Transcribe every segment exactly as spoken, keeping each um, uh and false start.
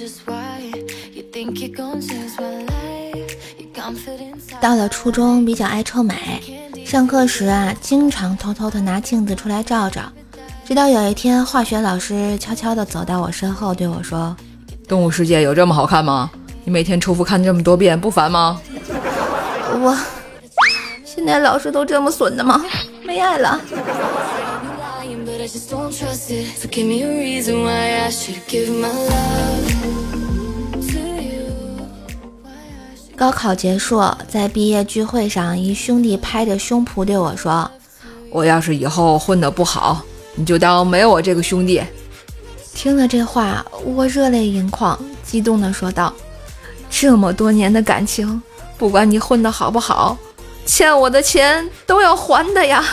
到了初中比较爱臭美，上课时啊经常偷偷的拿镜子出来照照，直到有一天化学老师悄悄地走到我身后对我说， 动物世界有这么好看吗？你每天重复看这么多遍不烦吗？ 我现在老师都这么损的吗？没爱了。高考结束，在毕业聚会上，一兄弟拍着胸脯对我说， 我要是以后混得不好，你就当没有我这个兄弟。 听了这话，我热泪盈眶，激动地说道，这么多年的感情，不管你混得好不好，欠我的钱都要还的呀。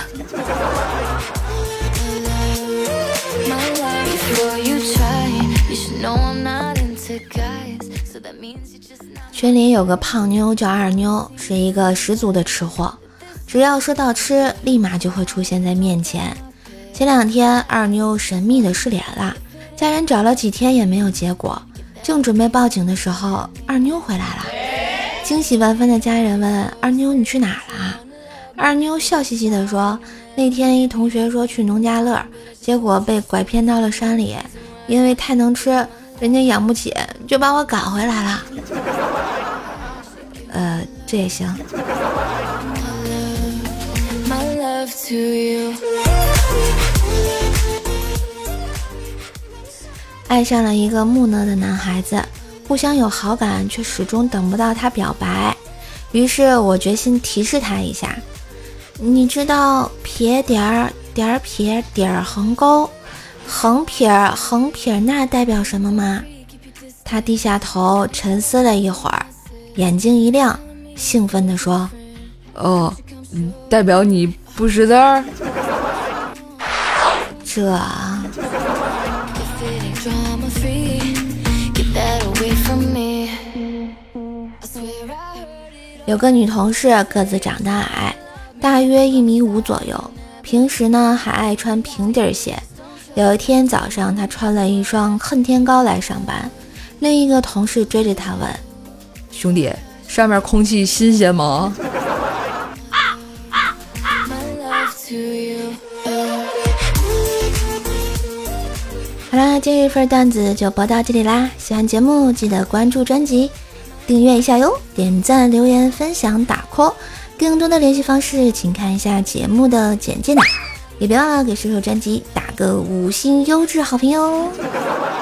群里有个胖妞叫二妞，是一个十足的吃货，只要说到吃，立马就会出现在面前。前两天二妞神秘的失联了，家人找了几天也没有结果，正准备报警的时候，二妞回来了。惊喜万分的家人问二妞，你去哪儿了？二妞笑嘻嘻地说，那天一同学说去农家乐，结果被拐骗到了山里，因为太能吃，人家养不起，就把我赶回来了。呃，这也行。爱上了一个木讷的男孩子，互相有好感，却始终等不到他表白。于是我决心提示他一下，你知道撇点儿点儿撇点儿横勾横撇横撇那代表什么吗？他低下头沉思了一会儿，眼睛一亮，兴奋地说， 哦，嗯，代表你不识字儿。 这有个女同事个子长得矮，大约一米五左右，平时呢还爱穿平底鞋。有一天早上，她穿了一双恨天高来上班，另一个同事追着她问， 兄弟，上面空气新鲜吗？ 好啦，今日份段子就播到这里啦，喜欢节目记得关注专辑，订阅一下哟，点赞留言分享打 call， 更多的联系方式请看一下节目的简介呢，也别忘了给射手专辑打个五星优质好评哟。